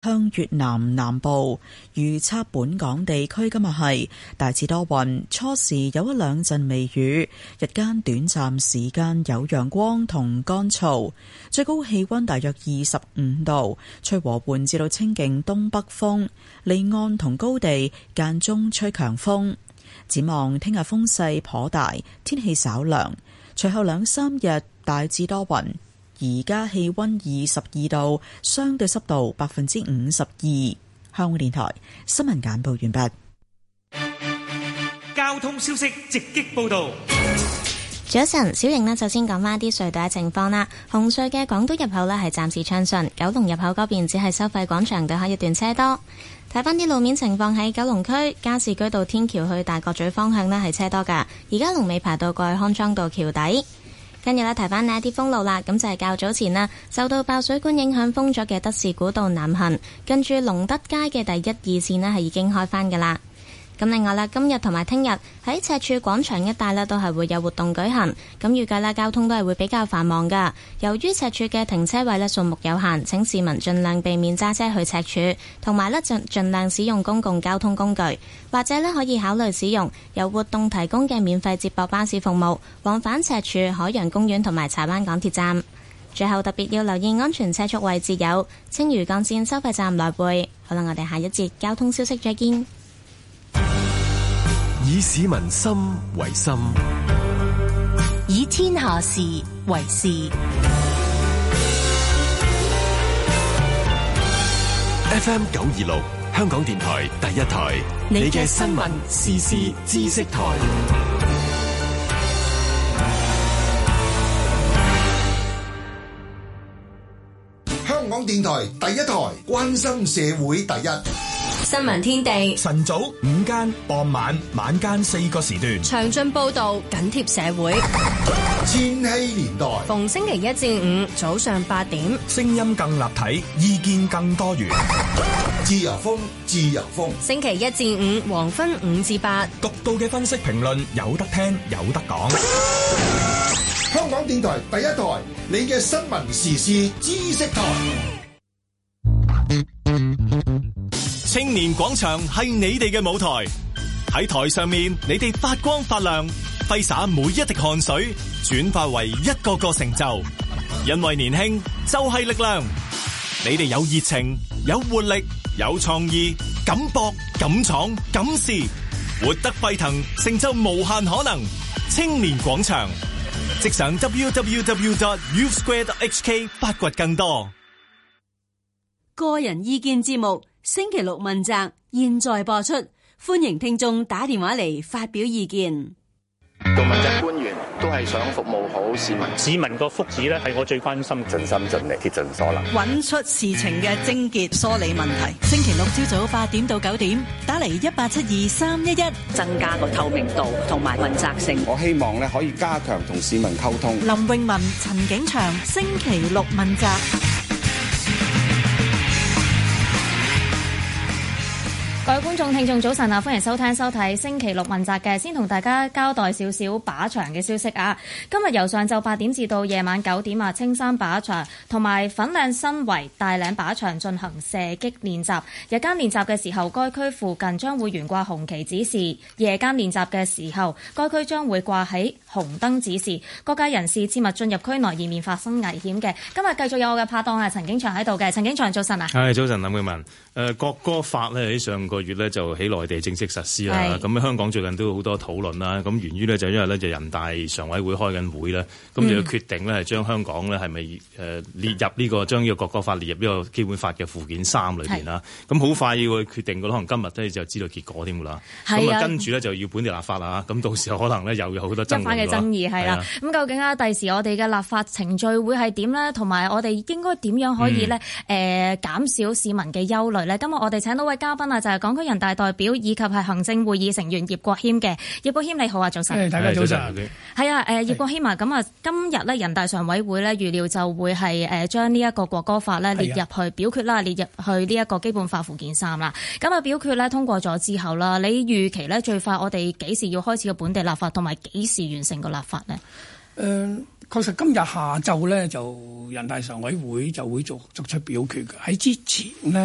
向越南南部。預測本港地區今日係大致多雲，初時有一兩陣微雨，日間短暫時間有陽光同乾燥，最高氣溫大約25度，吹和緩至到清勁東北風，離岸同高地間中吹強風。展望聽日風勢頗大，天氣稍涼，隨後兩三日大致多雲。而家氣溫22度，相對濕度52%。香港電台新聞簡報完畢。 交通消息直擊報道。 早晨，小瑩呢，就先講翻啲隧道嘅情況啦。紅隧嘅港島入口呢係暫時暢順，九龍入口嗰邊只係收費廣場對開一段車多。睇翻啲路面情況，喺九龍區加士居道天橋去大角咀方向呢係車多噶，而家龍尾排到過去康莊道橋底。跟住呢，提翻呢一啲封路啦，咁就係較早前啦，受到爆水管影響封咗嘅德士古道南行，跟住龍德街嘅第一二線呢係已經開返噶啦。咁另外啦，今日同埋聽日喺赤柱廣場一帶呢都係會有活動舉行，咁預計啦交通都係會比較繁忙噶。由於赤柱嘅停車位呢數目有限，請市民盡量避免揸車去赤柱，同埋呢盡量使用公共交通工具，或者呢可以考慮使用由活動提供嘅免費接駁巴士服務，往返赤柱海洋公園同埋柴灣港鐵站。最後特別要留意安全車速位置有青嶼幹線收費站來回。好啦，我哋下一節交通消息再見。 以市民心為心， 以天下事為事。 FM 926，香港電台第一台，你嘅新聞時事知識台。 香港電台第一台，關心社會第一。 新聞天地晨早午間傍晚晚間4個時段， 詳盡報道，緊貼社會。 千禧年代逢星期一至五早上8點， 聲音更立體，意見更多元。 自由風，自由風。 星期一至五黃昏5至8， 獨到嘅分析評論，有得聽有得講。 香港電台第一台，你嘅新聞時事知識台。 青年廣場係你哋嘅舞台，喺台上面你哋發光發亮，揮灑每一滴汗水，轉化為一個個成就。因為年輕就係力量，你哋有熱情、有活力、有創意，敢搏、敢闖、敢試，活得沸騰，成就無限可能。青年廣場，即上 www.youthsquare.hk 發掘更多。 個人意見節目星期六問責，現在播出，歡迎聽眾打電話嚟發表意見。 做問責官員都係想服務好市民， 市民個福祉咧係我最關心， 盡心盡力，竭盡所能， 揾出事情嘅症結，梳理問題。星期六朝早8點到9點，打嚟1872-311， 增加個透明度同埋問責性。 我希望咧可以加強同市民溝通。 林詠雯、陳景祥，星期六問責。 各位觀眾聽眾早晨啊，歡迎收聽收睇星期六問責嘅，先同大家交代少少靶場嘅消息啊。今日由上晝8點至到夜晚9點啊，青山靶場同埋粉嶺新圍大嶺靶場進行射擊練習。日間練習嘅時候，該區附近將會懸掛紅旗指示；夜間練習嘅時候，該區將會掛起紅燈指示。各界人士切勿進入區內，以免發生危險嘅。今日繼續有我嘅拍檔啊，陳景祥喺度嘅。陳景祥早晨啊。 係早晨，林詠雯。國歌法咧喺上個月咧就喺內地正式實施啦。咁香港最近都有好多討論啦。咁源於咧就因為咧就人大常委會開緊會咧，咁就要決定咧係將香港咧係咪列入呢個將呢個國歌法列入呢個基本法嘅附件3裏邊啦。咁好快要決定嘅，可能今日咧就知道結果添㗎啦。咁啊跟住咧就要本地立法啦。咁到時候可能咧又有好多爭議嘅爭議係啦。咁究竟啊第時我哋嘅立法程序會係點咧？同埋我哋應該點樣可以咧減少市民嘅憂慮？今日我哋請到位嘉賓啊，就係港區人大代表以及係行政會議成員葉國謙嘅。葉國謙你好啊，早晨。 大家早晨。 係啊，葉國謙啊，咁啊，今日咧人大常委會咧預料就會係將呢一個國歌法咧列入去表決啦，列入去呢一個基本法附件3啦。咁啊表決咧通過咗之後啦，你預期咧最快我哋幾時要開始個本地立法，同埋幾時完成個立法呢？ 確實今日下晝咧就人大常委會就會作出表決嘅。喺之前呢，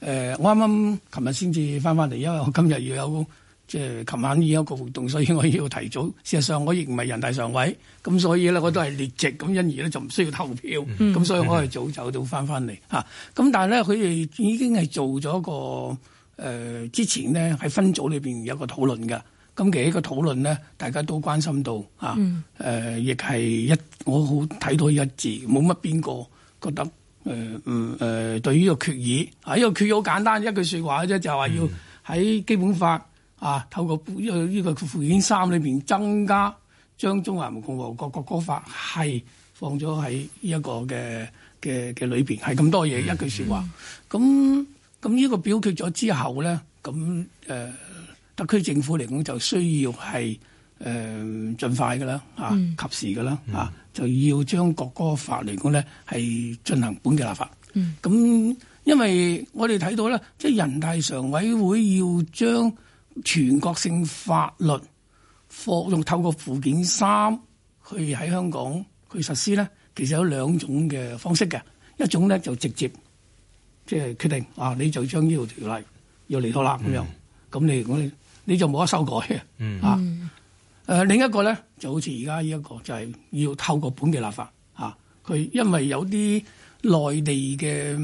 我啱啱琴日先至翻嚟，因為我今日要有即係琴晚已經有個活動，所以我要提早。事實上我亦唔係人大常委，咁所以咧我都係列席，咁因而咧就唔需要投票，咁所以我係早走到翻嚟嚇。咁但係咧佢哋已經係做咗個之前呢喺分組裏邊有個討論㗎。咁其實呢個討論咧，大家都關心到嚇，亦係我好睇到一致，冇乜邊個覺得對呢個決議啊，呢個決議好簡單一句説話啫，就係話要喺基本法透過呢個附件3裏邊增加將中華人民共和國國歌法係放咗喺呢一個嘅裏邊，係咁多嘢一句説話。咁呢個表決咗之後咧，咁特區政府嚟講就需要係盡快㗎啦，及時㗎啦，就要將國歌法嚟講咧係進行本地立法。咁因為我哋睇到咧，即係人大常委會要將全國性法律用透過附件3去喺香港去實施咧，其實有兩種嘅方式嘅。一種咧就直接即係決定你就將呢條條例要嚟到啦咁樣，咁你就冇得修改嘅。另一個咧就好似而家呢一個就係要透過本地立法佢因為有啲內地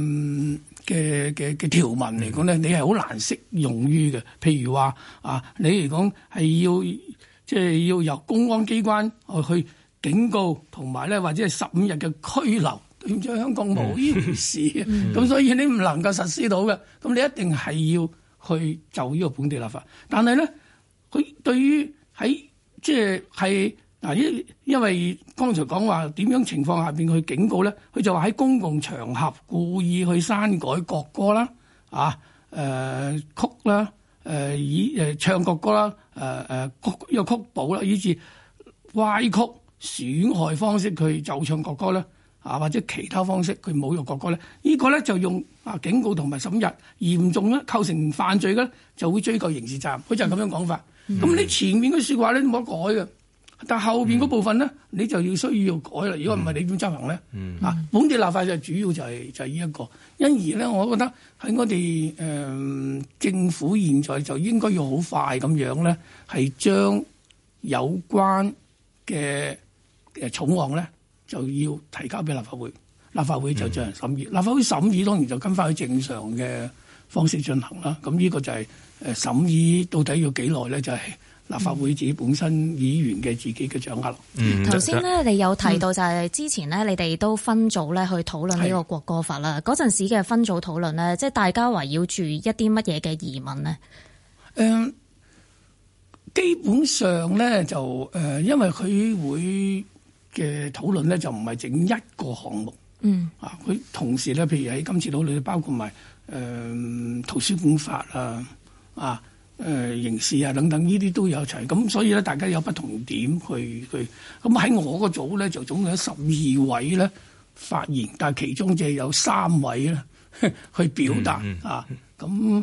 嘅條文嚟講咧，你係好難適用於嘅。譬如話你嚟講係要由公安機關去警告，同埋咧或者係15日嘅拘留。對唔住，香港冇呢回事咁所以你唔能夠實施到嘅。咁你一定係要去就呢個本地立法。但係咧，佢對於喺即係因為剛才講話點樣情況下邊去警告咧，佢就話喺公共場合故意去刪改國歌啦，曲啦，唱國歌啦，呢個曲譜啦，以至歪曲損害方式佢就唱國歌咧，或者其他方式佢侮辱國歌咧，呢個咧就用警告同埋15日，嚴重咧構成犯罪嘅就會追究刑事責任。佢就係咁樣講法。咁你前面嘅説話咧冇得改嘅。但後邊嗰部分咧，你就要需要改啦。如果唔係，你點執行咧？本地立法就主要就係呢一個。因而咧，我覺得喺我哋政府現在就應該要好快咁樣咧，係將有關嘅草案咧，就要提交俾立法會。立法會就進行審議。立法會審議當然就跟翻去正常嘅方式進行啦。咁呢個就係審議到底要幾耐咧？就係立法會自己本身議員嘅自己嘅掌握。 頭先咧，你有提到就係之前咧，你哋都分組咧去討論呢個國歌法啦。嗰陣時嘅分組討論咧，即係大家圍繞住一啲乜嘢嘅疑問呢？ 基本上咧就因為佢會嘅討論咧就唔係整一個項目。佢同時咧，譬如喺今次討論包括埋圖書館法刑事等等呢啲都有齊，咁所以咧大家有不同點去咁喺我個組咧就總共有12位咧發言，但係其中就有3位咧去表達咁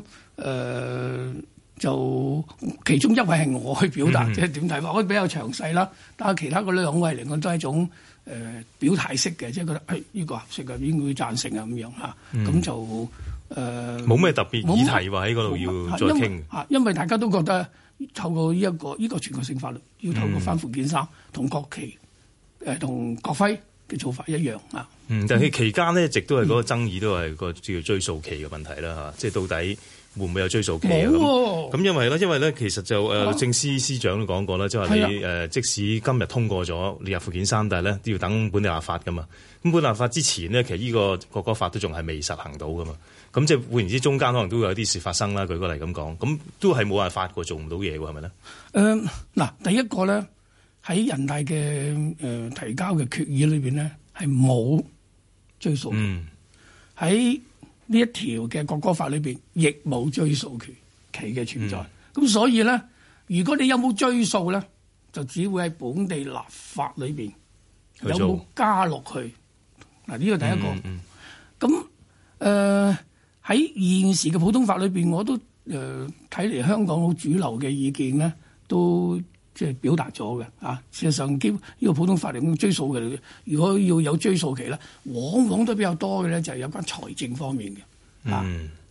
就其中1位係我去表達，即係點睇法，我比較詳細啦。但係其他嗰2位嚟講都係一種表態式嘅，即係覺得呢個合適嘅，應該贊成咁樣咁就。 冇咩特別議題話喺嗰度要再傾。 因為大家都覺得透過呢個全國性法律，要透過翻附件3同國旗同國徽嘅做法一樣但係期間呢，一直都係嗰個爭議都係個叫追溯期嘅問題啦即係到底會唔會有追溯期咁因為咧，其實就律政司司長都講過啦，即係話你即使今日通過咗列入附件3，但係咧都要等本地立法噶嘛。咁本地立法之前呢，其實呢個國歌法都仲係未實行到噶嘛。咁即係換言之，中間可能都會有啲事發生啦。舉個例咁講，咁都係冇辦法過，做唔到嘢喎，係咪咧？ 第一個咧喺人大嘅提交嘅決議裏邊咧係冇追溯，喺呢一條嘅國歌法裏邊亦冇追溯期嘅存在。咁所以咧，如果你有冇追溯咧，就只會喺本地立法裏邊有冇加落去。嗱，呢個第一個。咁喺現時嘅普通法裏邊，我都睇嚟香港好主流嘅意見咧，都即係表達咗嘅事實上，呢個普通法嚟講追溯嘅，如果要有追溯期咧，往往都比較多嘅咧，就係有關財政方面嘅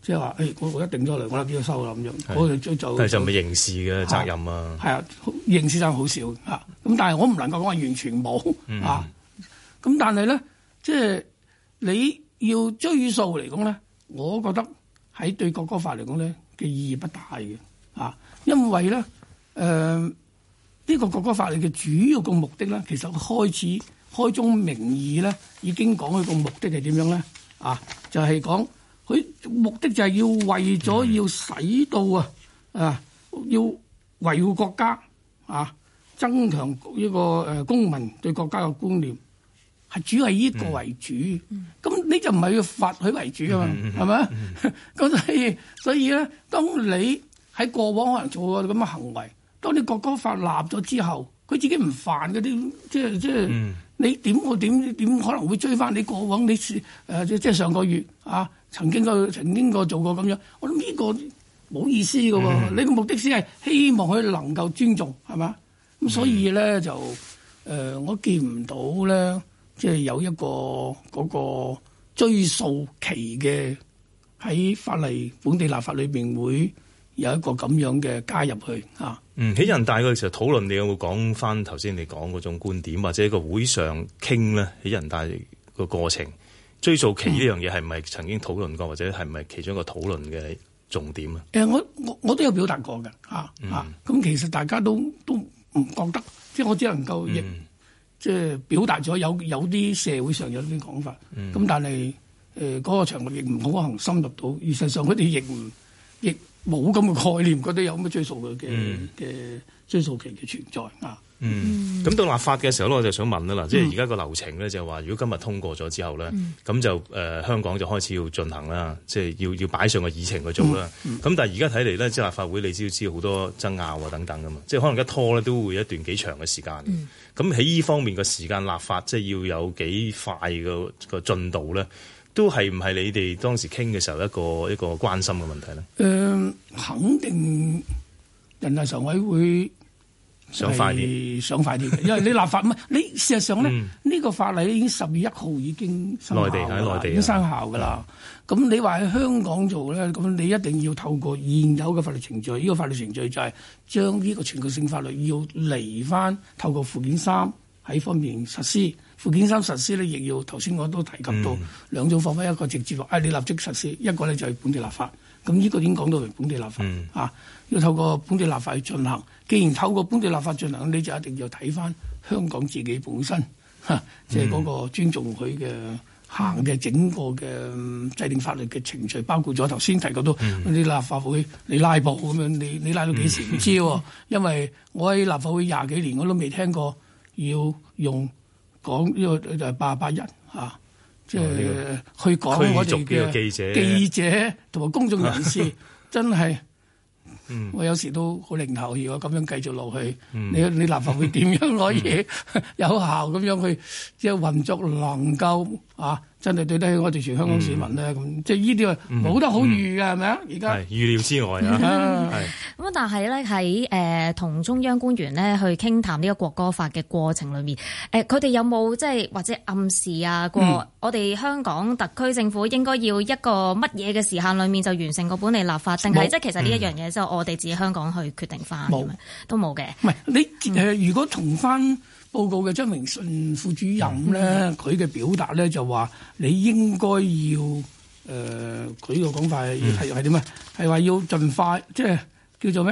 即係話我一定咗嚟，我立即收啦咁樣，我就但係就唔係刑事嘅責任啊。 係啊，刑事責任好少嚇。咁但係我唔能夠講話完全冇啊。咁但係咧，即係你要追溯嚟講咧，我覺得喺對國歌法嚟講咧嘅意義不大嘅啊，因為咧呢個國歌法嘅主要個目的咧，其實開宗明義咧已經講佢個目的係點樣咧啊，就係講佢目的就係要為咗要使到要維護國家啊，增強呢個公民對國家嘅觀念，係主要係呢個為主。咁你就唔係要罰佢為主啊嘛，係咪？咁所以咧，當你喺過往可能做過咁嘅行為，當你國歌法立咗之後，佢自己唔犯嗰啲，即係你點可能會追翻你過往你即係上個月啊曾經過做過咁樣？我諗呢個冇意思嘅喎。你個目的先係希望佢能夠尊重，係嘛？咁所以咧就我見唔到咧，即係有一個嗰個追溯期嘅喺本地立法裏邊會有一個咁樣嘅加入去啊。 喺人大嘅時候討論，你有冇講翻頭先你講嗰種觀點，或者個會上傾咧？喺人大個過程追溯期呢樣嘢係唔係曾經討論過，或者係唔係其中一個討論嘅重點啊？ 我都有表達過嘅咁其實大家都唔覺得，即係我只能夠即係表達咗有啲社會上有啲講法，咁但係嗰個場合亦唔可能深入到，事實上佢哋亦冇咁嘅概念，覺得有咁嘅追溯嘅追溯期嘅存在啊。 咁到立法嘅時候咧，我就想問啦，嗱，即係而家個流程咧就係話，如果今日通過咗之後咧，咁就香港就開始要進行啦，即係要擺上個議程去做啦。咁但係而家睇嚟咧，即係立法會你知好多爭拗啊等等噶嘛，即係可能一拖咧都會一段幾長嘅時間。咁喺呢方面嘅時間立法，即係要有幾快個進度咧？都係唔係你哋當時傾嘅時候一個關心嘅問題咧？ 肯定人大常委會想快啲嘅，因為你立法你事實上咧呢個法例已經10月1號已經生效，內地已經生效㗎啦。咁你話喺香港做咧，咁你一定要透過現有嘅法律程序，呢個法律程序就係將呢個全國性法律要嚟翻透過附件3喺方面實施。附件3實施咧，亦要頭先我都提及到兩種方法，一個直接話你立即實施，一個咧就係本地立法。咁呢個已經講到係本地立法要透過本地立法去進行。既然透過本地立法進行，你就一定要睇翻香港自己本身即係嗰個尊重佢嘅行嘅整個嘅制定法律嘅程序，包括咗頭先提及到你立法會你拉布咁樣，你拉到幾時唔知喎？因為我喺立法會20幾年，我都未聽過要用講呢個就係88人即係去講我哋嘅記者同埋公眾人士，真係我有時都好零頭。如果咁樣繼續落去，你立法會點樣可以有效咁樣去即係運作，能夠真係對得起我哋全香港市民咧？咁即係呢啲冇得好預嘅，係咪啊？而家預料之外啊。 咁但係咧喺同中央官員咧去傾談呢個國歌法嘅過程裏面，佢哋有冇即係或者暗示過我哋香港特區政府應該要一個乜嘢嘅時限裏面就完成個本地立法，定係即係其實呢一樣嘢之後我哋自己香港去決定翻？都冇嘅。 唔係你如果從翻報告嘅張榮順副主任咧，佢嘅表達咧就話你應該要佢個講法係點啊？係話要盡快，即係叫做咩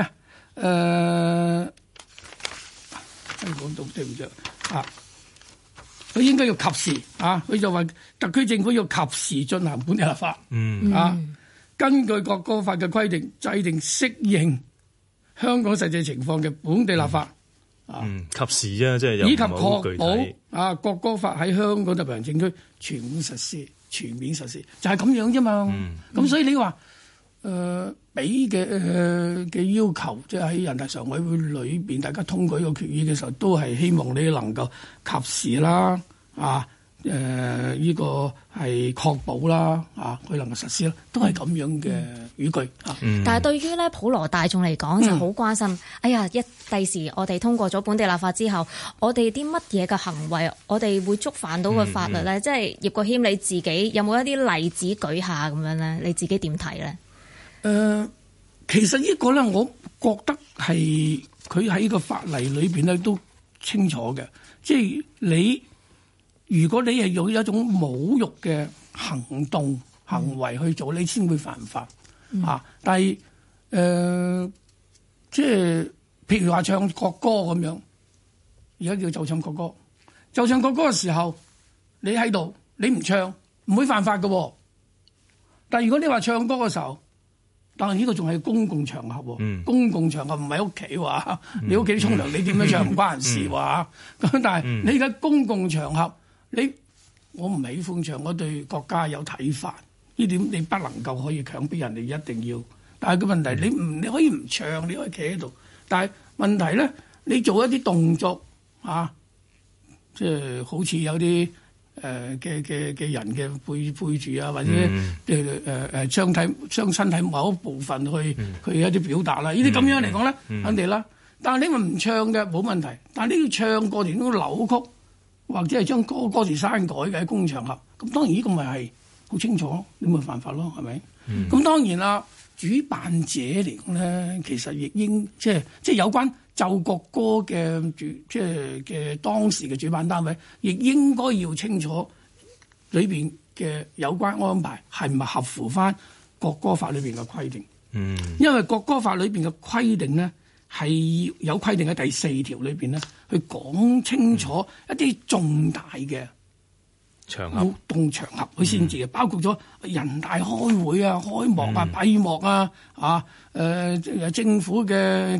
講到對唔住佢應該要及時佢就話特區政府要及時進行本地立法，根據國歌法嘅規定，制定適應香港實際情況嘅本地立法。 及時啫，即係有以及確保國歌法喺香港特別行政區全面實施，就係咁樣啫嘛。咁所以你話俾嘅要求，即係喺人大常委會裏邊，大家通過呢個決議嘅時候，都係希望你能夠及時啦，呢個係確保啦，佢能夠實施啦，都係咁樣嘅語句。 但係對於咧普羅大眾嚟講就好關心。哎呀，第時我哋通過咗本地立法之後，我哋啲乜嘢嘅行為，我哋會觸犯到個法律咧？即係葉國謙你自己有冇一啲例子舉下咁樣咧？你自己點睇咧？ 其實呢個咧，我覺得係佢喺個法例裏邊咧都清楚嘅，即係如果你係用一種侮辱嘅行為去做，你先會犯法啊！但係即係譬如話唱國歌咁樣，而家叫奏唱國歌，奏唱國歌嘅時候，你喺度，你唔唱唔會犯法嘅。但係如果你話唱歌嘅時候，但係呢個仲係公共場合，公共場合唔係屋企話，你屋企沖涼你點樣唱唔關人事話。咁但係你而家公共場合，我唔喜歡唱，我對國家有睇法，呢點你不能夠可以強迫人哋一定要。但係個問題，你可以唔唱，你可以企喺度。但係問題咧，你做一啲動作即係好似有啲嘅人嘅背住啊，或者將身體某一部分去一啲表達啦。呢啲咁樣嚟講咧，肯定啦。但係你咪唔唱嘅冇問題，但係你要唱過程都扭曲，或者係將歌詞刪改嘅喺公共場合，咁當然呢個咪係好清楚，你咪犯法咯，係咪？咁當然啦，主辦者嚟講咧，其實亦應即係有關奏國歌嘅嘅當時嘅主辦單位，亦應該要清楚裏邊嘅有關安排係唔係合乎翻國歌法裏邊嘅規定。因為國歌法裏邊嘅規定咧，係有規定喺第4條裏邊咧，去講清楚一啲重大嘅活動場合，佢先至嘅，包括咗人大開會啊、開幕啊、閉幕啊、政府嘅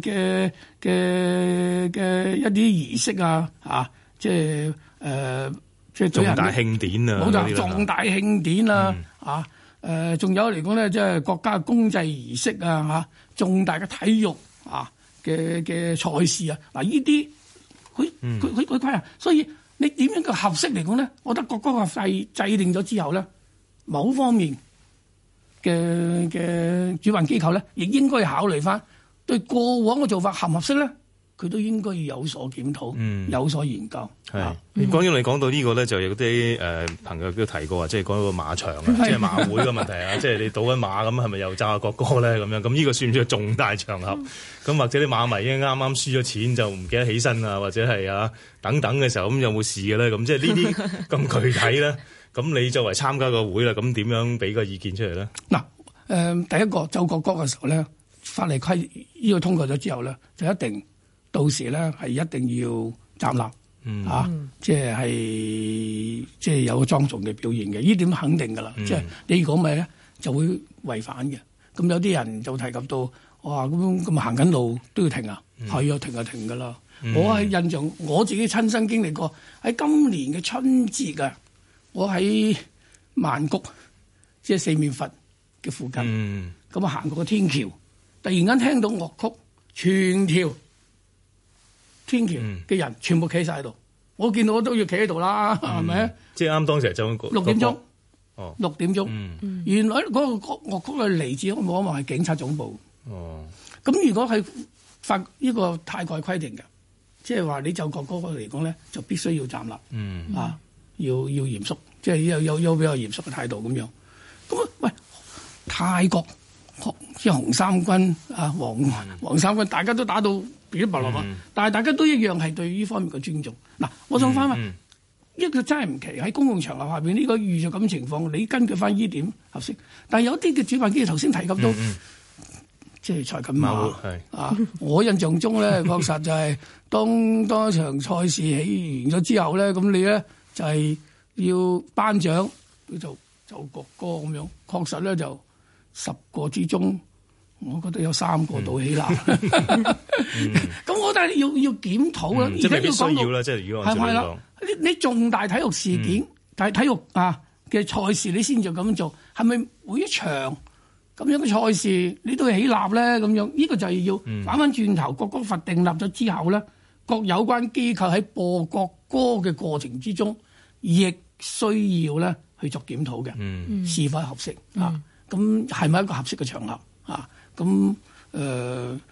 一啲儀式啊，即係重大慶典啊， 冇錯，重大慶典啊，仲有嚟講咧，即係國家公祭儀式啊，重大嘅體育嘅賽事啊，嗱呢啲佢規啊，所以你點樣嘅合適嚟講咧？我覺得國歌法制定咗之後咧，某方面嘅主辦機構咧，亦應該考慮翻對過往嘅做法合唔合適咧，佢都應該要有所檢討，有所研究。 係，講起嚟講到呢個咧，就有啲朋友都提過啊，即係講個馬場啊，即係馬會嘅問題啊，即係你賭緊馬咁，係咪又炸國歌咧？咁樣咁呢個算唔算重大場合？咁或者啲馬迷已經啱啱輸咗錢就唔記得起身啊，或者係等等嘅時候，咁有冇事嘅咧？咁即係呢啲咁具體咧，咁你作為參加個會啦，咁點樣俾個意見出嚟咧？ 嗱，第一個奏國歌嘅時候咧，法例規呢個通過咗之後咧，就一定到時咧係一定要站立。即係有個莊重嘅表現嘅，呢點肯定㗎啦。即係你如果唔係咧，就會違反嘅。咁有啲人就提及到，哇咁行緊路都要停啊，係啊，停就停㗎啦。我喺印象我自己親身經歷過，喺今年嘅春節啊，我喺曼谷即係四面佛嘅附近，咁行過個天橋，突然間聽到樂曲，全條天橋嘅人全部企晒喺度，我見到我都要企喺度啦，係咪？即係啱當時就6點鐘，6點鐘，原來嗰個樂曲係嚟自我望一望係警察總部。咁如果係法呢個泰國規定嘅，即係話你奏國歌嚟講咧，就必須要站立，要嚴肅，即係有比較嚴肅嘅態度咁樣。咁喂，泰國即係紅衫軍黃衫軍，大家都打到噼里啪啦嘛，但係大家都一樣係對呢方面嘅尊重。嗱，我想翻問，一個真係唔奇喺公共場合下邊呢個遇着咁情況，你根據翻呢點合適？但係有啲嘅主辦機構頭先提及到，即係賽緊馬我印象中咧，確實就係當場賽事起完咗之後咧，咁你咧就係要頒獎，佢就奏國歌咁樣，確實咧就10個之中，我覺得有3個倒起啦。咁我覺得要檢討啦，而家要講到即係如果係啦， 你重大體育事件、但係體育嘅賽事，你先就咁做，係咪每一場咁樣嘅賽事你都要起立咧？咁樣呢個就係要反翻轉頭，國歌法訂立咗之後咧，各有關機構喺播國歌嘅過程之中，亦需要咧去作檢討嘅，是否合適咁係咪一個合適嘅場合？咁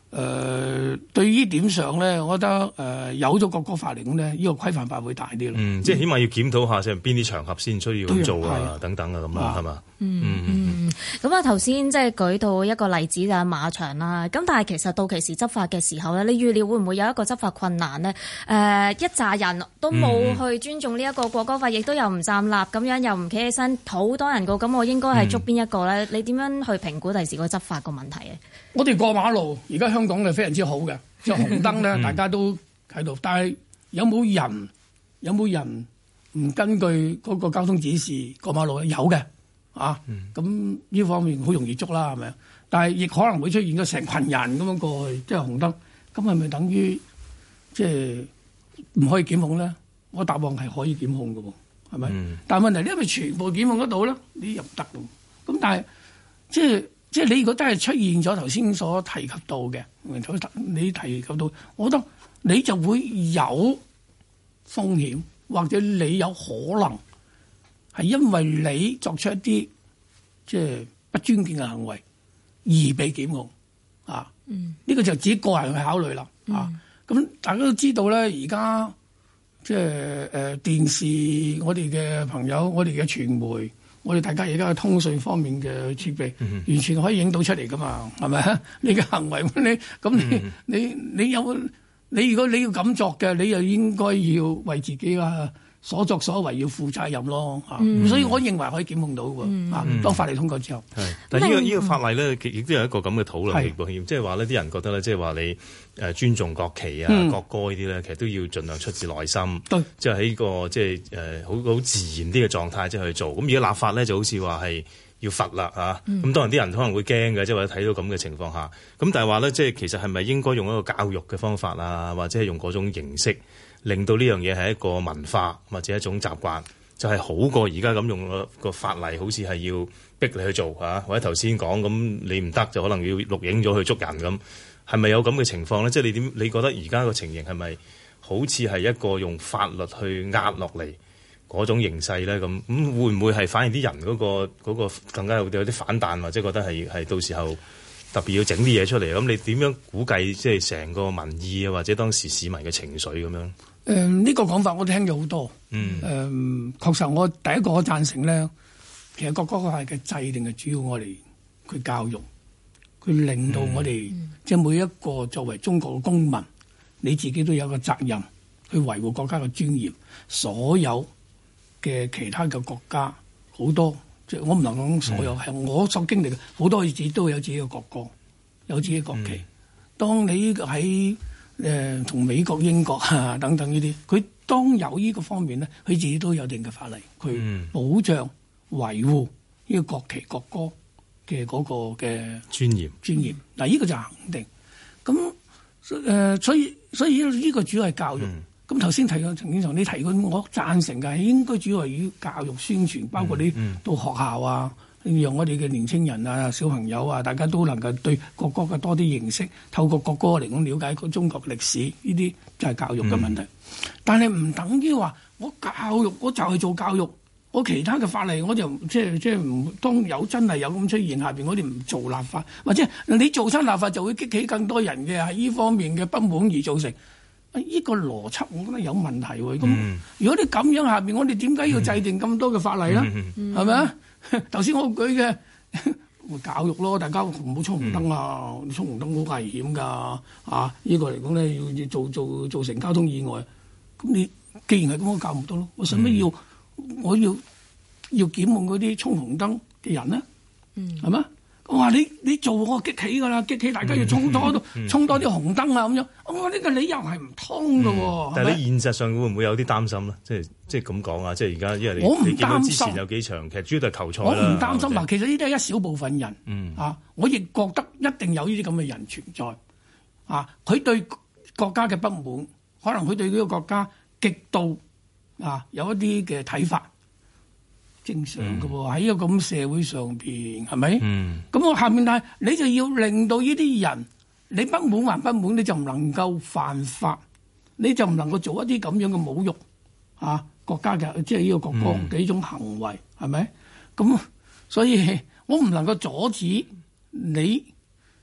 對於呢點上咧，我覺得有咗國歌法嚟講咧，呢個規範法會大啲咯。 即係起碼要檢討下，即係邊啲場合先需要咁做啊，等等啊，咁啊，係嘛？ 咁啊，頭先即係舉到一個例子就係馬場啦。咁但係其實到期時執法嘅時候咧，你預料會唔會有一個執法困難呢？一紮人都冇去尊重呢一個國歌法，亦都又唔站立，咁樣又唔企起身，好多人告，咁我應該係捉邊一個咧？你點樣去評估第時個執法個問題嘅？ 我哋過馬路，而家香港係非常之好嘅，即係紅燈咧，大家都喺度。但係有冇人唔根據嗰個交通指示過馬路咧？有嘅。咁呢方面好容易捉啦，係咪？但係亦可能會出現咗成群人咁樣過去，即係紅燈，咁係咪等於即係唔可以檢控咧？我答案係可以檢控嘅喎，係咪？但係問題你係咪全部檢控得到咧？你又唔得嘅。咁但係即係你如果真係出現咗頭先所提及到嘅，你提及到，我覺得你就會有風險，或者你有可能。係因為你作出一啲即係不尊敬嘅行為而被檢控啊！呢個就自己個人去考慮啦啊！咁大家都知道咧，而家即係電視，我哋嘅朋友，我哋嘅傳媒，我哋大家而家嘅通訊方面嘅設備，完全可以影到出嚟噶嘛？係咪？你嘅行為你如果你要咁作嘅，你又應該要為自己所作所為要負責任咯，所以我認為可以檢控到喎。當法例通過之後， 但係呢個法例咧，亦都有一個咁嘅討論，即係話呢啲人覺得咧，即係話你尊重國旗啊、國歌呢啲咧，其實都要盡量出自內心，即係喺個即係好自然啲嘅狀態即係去做。咁而家立法咧就好似話係要罰啦嚇，咁當然啲人可能會驚嘅，即係或者睇到咁嘅情況下，咁但係話咧，即係其實係咪應該用一個教育嘅方法啊，或者係用嗰種形式？令到呢樣嘢係一個文化或者一種習慣，就係好過而家咁用個法例，好似係要逼你去做嚇，或者頭先講咁你唔得就可能要錄影咗去捉人咁，係咪有咁嘅情況咧？即係你覺得而家個情形係咪好似係一個用法律去壓落嚟嗰種形勢咧？咁會唔會係反而啲人嗰個更加有啲反彈，或者覺得係到時候特別要整啲嘢出嚟？咁你點樣估計即係成個民意啊，或者當時市民嘅情緒咁樣？ 呢個講法我聽咗好多。確實我第一個我贊成咧，其實國歌法嘅制定係主要我哋佢教育，佢令到我哋即係每一個作為中國嘅公民，你自己都有個責任去維護國家嘅尊嚴。所有嘅其他嘅國家好多，即係我唔能講所有，係我所經歷嘅好多自己都有自己嘅國歌，有自己嘅國旗。當你喺同美國、英國等等呢啲，佢當有呢個方面咧，佢自己都有定嘅法例，佢保障維護呢個國旗、國歌嘅嗰個嘅尊嚴。 嗱，呢個就肯定。咁所以呢個主要係教育。咁頭先提過陳景祥，你提過，我贊成嘅係應該主要係以教育宣傳，包括你到學校啊。讓我哋嘅年青人啊、小朋友啊，大家都能夠對國歌嘅多啲認識，透過國歌嚟講了解個中國歷史，呢啲就係教育嘅問題。但係唔等於話我教育，我就係做教育，我其他嘅法例我就即係唔當有真係有咁出現下邊，我哋唔做立法，或者你做親立法就會激起更多人嘅喺呢方面嘅不滿而造成。呢個邏輯我覺得有問題喎。咁如果你咁樣下邊，我哋點解要制定咁多嘅法例咧？係咪啊？頭先我舉嘅教育咯，大家唔好衝紅燈啊！衝紅燈好危險㗎，呢個嚟講咧要造成交通意外。咁你既然係咁，我教唔到咯。我使乜我要檢控嗰啲衝紅燈嘅人咧？係咪？我話你做我激起㗎啦，激起大家要衝多啲紅燈啊咁樣。我話呢個理由係唔通㗎喎。 但係你現實上會唔會有啲擔心咧？即係咁講啊！即係而家因為你見到之前有幾場，其實主要都係球賽啦。 我唔擔心嗱，其實呢啲係一小部分人。我亦覺得一定有呢啲咁嘅人存在。佢對國家嘅不滿，可能佢對呢個國家極度有一啲嘅睇法。正常嘅喎，喺一個咁社會上邊，係咪？咁我下面但係你就要令到呢啲人，你不滿還不滿，你就唔能夠犯法，你就唔能夠做一啲咁樣嘅侮辱國家嘅，即係呢個國歌嘅呢種行為，係咪？咁所以我唔能夠阻止你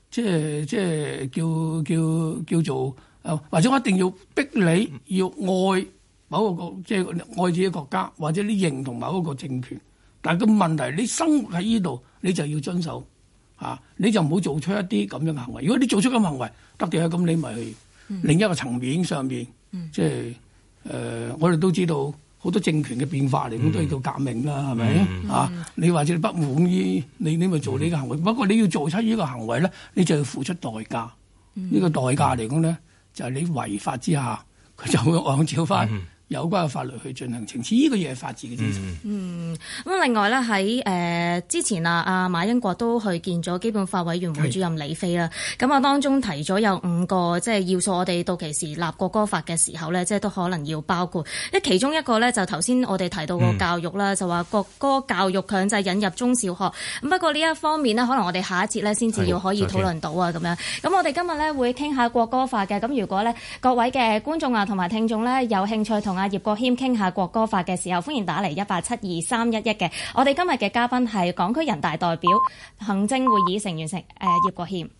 即係叫做或者我一定要逼你要愛某一個國，即係愛自己國家，或者你認同某一個政權。但係個問題，你生活喺呢度，你就要遵守你就唔好做出一啲咁樣嘅行為。如果你做出咁嘅行為，得嘅咁你咪去另一個層面上面，即係我哋都知道好多政權嘅變化嚟，咁都要叫革命啦，係咪你或者你不滿意，你咪做你嘅行為。不過你要做出呢個行為咧，你就要付出代價。呢個代價嚟講咧，就係你違法之下，佢就會按照翻有關嘅法律去進行懲治。呢個嘢係法治嘅精神。 咁另外咧喺之前阿馬英國都去見咗基本法委員會主任李飛啦。咁當中提咗有5個即係要素，我哋到期時立國歌法嘅時候咧，即係都可能要包括。其中一個咧就頭先我哋提到個教育啦，就話國歌教育強制引入中小學。咁不過呢一方面呢，可能我哋下一節咧先至要可以討論到咁樣。咁我哋今日咧會傾下國歌法嘅。咁如果咧各位嘅觀眾同埋聽眾咧有興趣同阿葉國謙傾下國歌法嘅時候，歡迎打嚟1872311嘅。我哋今日嘅嘉賓係港區人大代表、行政會議成員葉國謙。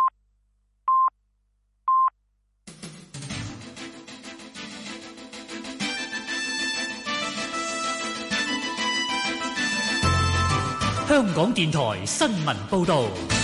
香港電台新聞報導。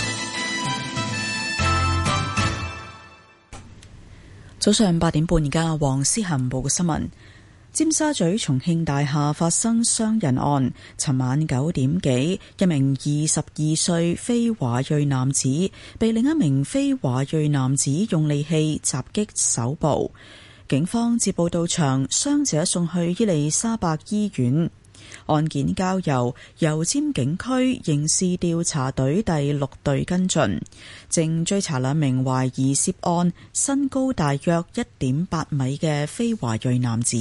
早上8點半，而家黃思涵報嘅新聞。尖沙咀重慶大廈發生傷人案，尋晚9點幾，一名22歲非華裔男子被另一名非華裔男子用利器襲擊手部，警方接報到場，傷者送去伊利沙伯醫院。案件交由油尖警區刑事調查隊第6隊跟進，正追查2名懷疑涉案、身高大約1.8米嘅非華裔男子。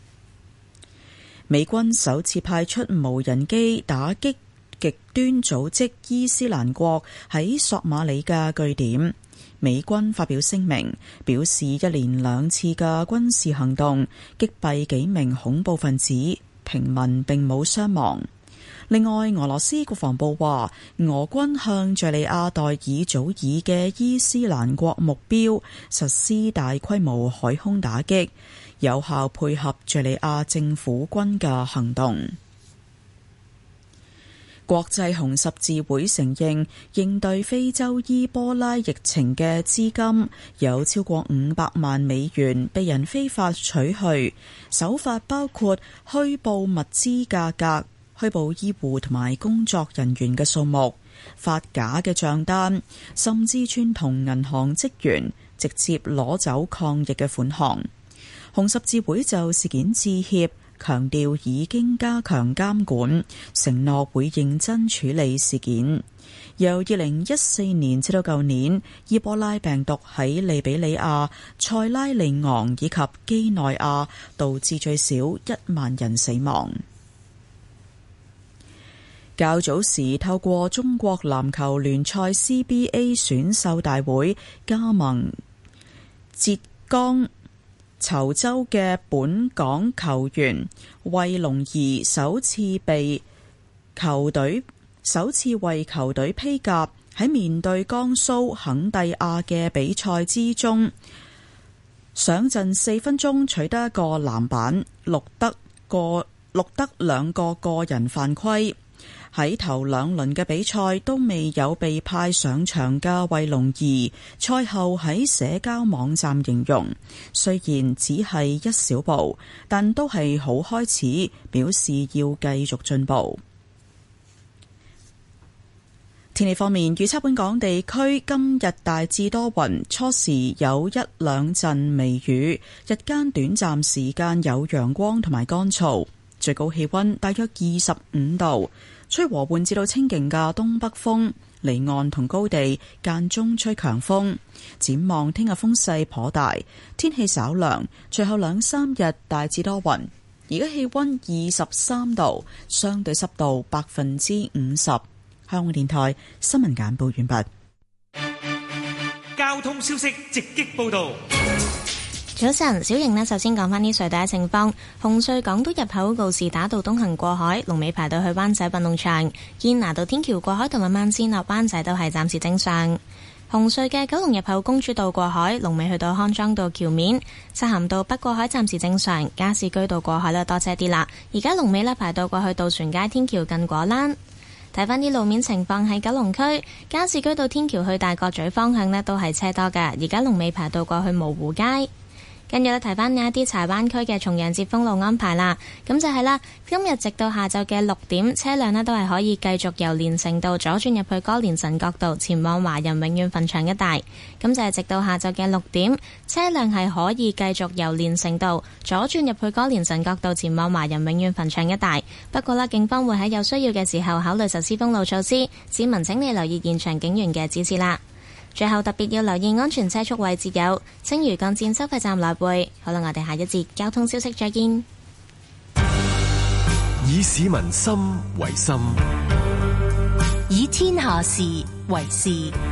美軍首次派出無人機打擊極端組織伊斯蘭國喺索馬里嘅據點。美軍發表聲明，表示一連2次嘅軍事行動擊斃幾名恐怖分子，平民並冇傷亡。另外，俄羅斯國防部話，俄軍向敘利亞代爾祖爾嘅伊斯蘭國目標實施大規模海空打擊，有效配合敘利亞政府軍嘅行動。國際紅十字會承認，應對非洲伊波拉疫情嘅資金有超過500萬美元被人非法取去，手法包括虛報物資價格、虛報醫護同埋工作人員嘅數目、發假嘅賬單，甚至串同銀行職員直接攞走抗疫嘅款項。紅十字會就事件致歉，強調已經加強監管，承諾會認真處理事件。由2014年至到舊年，伊波拉病毒喺利比里亞、塞拉利昂以及基內亞導致最少1萬人死亡。較早時透過中國籃球聯賽 CBA 選秀大會加盟浙江稠州嘅本港球員衛龍儀首次為球隊披甲，喺面對江蘇肯蒂亞嘅比賽之中，上陣4分鐘取得1個籃板，錄得2個個人犯規。喺頭2輪嘅比賽都未有被派上場嘅衛龍儀，賽後喺社交網站形容，雖然只係一小步，但都係好開始，表示要繼續進步。天氣方面，預測本港地區今日大致多雲，初時有1-2陣微雨，日間短暫時間有陽光同埋乾燥，最高氣溫大約25度。吹和緩至到清勁嘅東北風，離岸同高地間中吹強風。展望聽日風勢頗大，天氣稍涼，隨後2-3日大致多雲。而家氣溫23度，相對濕度50%。香港電台新聞簡報完畢。 交通消息直擊報道。 早晨，小瑩呢，首先講返啲隧道嘅情況。紅隧港島入口告士打道東行過海，龍尾排到去灣仔運動場；堅拿道天橋過海同埋慢線落灣仔都係暫時正常。 紅隧嘅九龍入口公主道過海，龍尾去到康莊道橋面；漆咸道北過海暫時正常，加士居道過海咧多車啲啦。而家龍尾咧排到過去渡船街天橋近果欄。睇翻啲路面情況喺九龍區，加士居道天橋去大角咀方向咧都係車多㗎，而家龍尾排到過去蕪湖街。跟住咧，提翻呢一啲柴灣區嘅重陽節封路安排啦。咁就係啦，今日直到下晝嘅6點，車輛呢都係可以繼續由連城道左轉入去歌連臣角道，前往華人永遠墳場一帶。咁就係直到下晝嘅6點，車輛係可以繼續由連城道左轉入去歌連臣角道，前往華人永遠墳場一帶。不過啦，警方會喺有需要嘅時候考慮實施封路措施，市民請你留意現場警員嘅指示啦。最後特別要留意安全車速位置有青嶼幹線收費站來回。好啦，我哋下一節交通消息再見。 以市民心為心， 以天下事為事。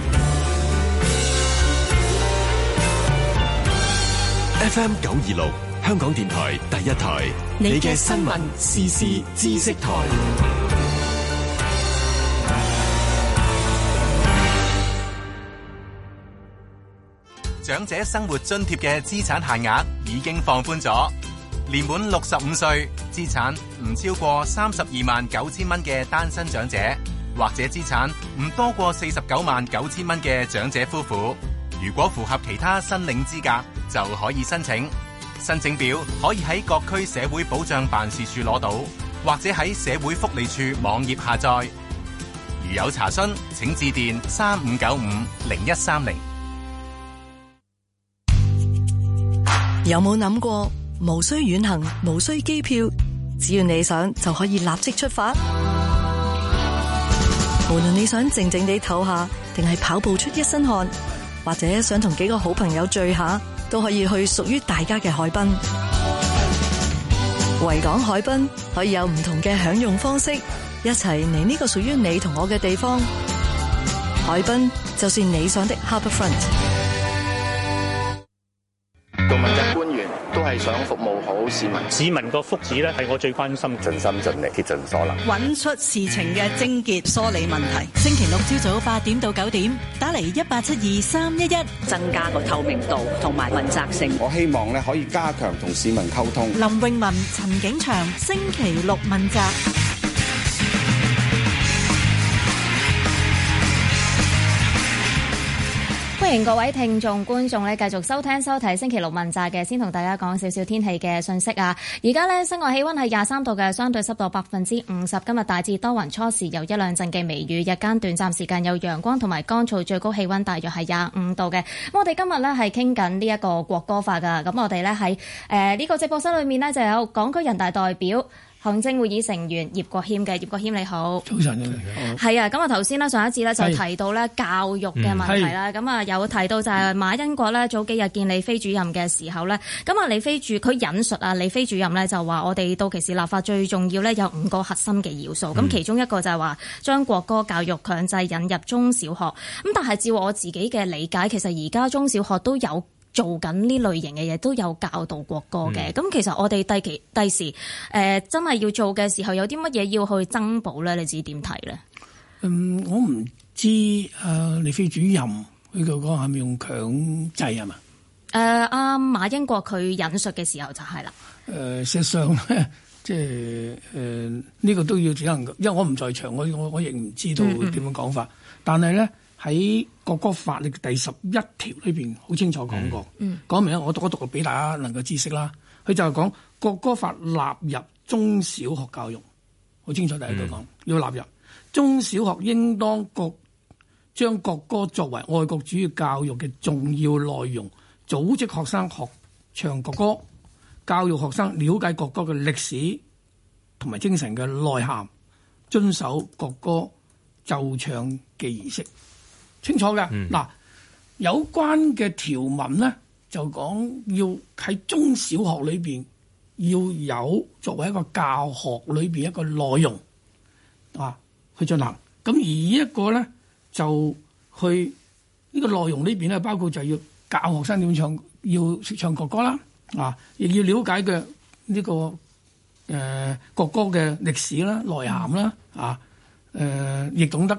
FM 926香港電台第一台，你嘅新聞時事知識台。 長者生活津貼嘅資產限額已經放寬咗，年滿65歲、資產唔超過329000蚊嘅單身長者，或者資產唔多過499000蚊嘅長者夫婦，如果符合其他申領資格，就可以申請。申請表可以喺各區社會保障辦事處攞到，或者喺社會福利處網頁下載。如有查詢，請致電35950130。 有冇諗過無需遠行，無需機票，只要你想就可以立即出發？無論你想靜靜地唞下，定係跑步出一身汗，或者想同幾個好朋友聚下，都可以去屬於大家嘅海濱。維港海濱可以有唔同嘅享用方式，一齊嚟呢個屬於你同我嘅地方。海濱就是你想的 Harbourfront。 做問責官員都係想服務好市民， 市民個福祉咧係我最關心， 盡心盡力竭盡所能， 揾出事情嘅症結，梳理問題。星期六朝早8點到9點，打嚟1872311， 增加個透明度同埋問責性。 我希望咧可以加強同市民溝通。 林詠雯、陳景祥，星期六問責。 歡迎各位聽眾觀眾咧繼續收聽收睇星期六問責嘅，先同大家講少少天氣嘅信息啊！而家咧室外氣溫係23度嘅，相對濕度50%。今日大致多雲，初時有一兩陣嘅微雨，日間短暫時間有陽光同埋乾燥，最高氣溫大約係25度嘅。咁我哋今日咧係傾緊呢一個國歌法噶，咁我哋咧喺呢個直播室裏面呢，就有港區人大代表、行政會議成員葉國謙嘅。葉國謙你好。 早晨你好。係啊，咁啊頭先呢，上一次咧就提到咧教育嘅問題啦，咁啊有提到就係馬恩國咧早幾日見李飛主任嘅時候咧，咁啊佢引述啊李飛主任咧就話我哋到期時立法最重要咧有5個核心嘅要素，咁其中一個就係話將國歌教育強制引入中小學，咁但係照我自己嘅理解，其實而家中小學都有做緊呢類型嘅嘢，都有教導國歌嘅。咁其實我哋第時真係要做嘅時候，有啲乜嘢要去增補咧？你自己點睇咧？ 我唔知李飛主任佢個係咪用強制係嘛？ 阿馬英國佢引述嘅時候就係啦。 事實上咧，即係呢個都要只能，因為我唔在場，我亦唔知道點樣講法。但係咧喺國歌法嘅第11條裏邊好清楚講過，講明我讀俾大家能夠知識啦。佢就係講國歌法納入中小學教育，好清楚第一句講要納入中小學，應當將國歌作為愛國主義教育嘅重要內容，組織學生學唱國歌，教育學生了解國歌嘅歷史同埋精神嘅內涵，遵守國歌奏唱嘅儀式。清楚嘅嗱，有關嘅條文咧就講要喺中小學裏邊要有作為一個教學裏邊一個內容去進行。咁而一個咧就去呢個內容裏邊咧，包括就要教學生點唱，要識唱國歌啦，亦要了解嘅呢個國歌嘅歷史啦、內涵啦，亦懂得